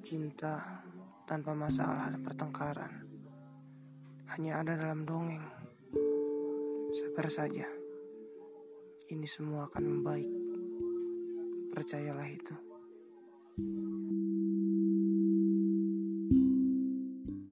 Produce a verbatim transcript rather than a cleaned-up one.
Cinta tanpa masalah dan pertengkaran hanya ada dalam dongeng. Sabar saja, ini semua akan membaik. Percayalah itu.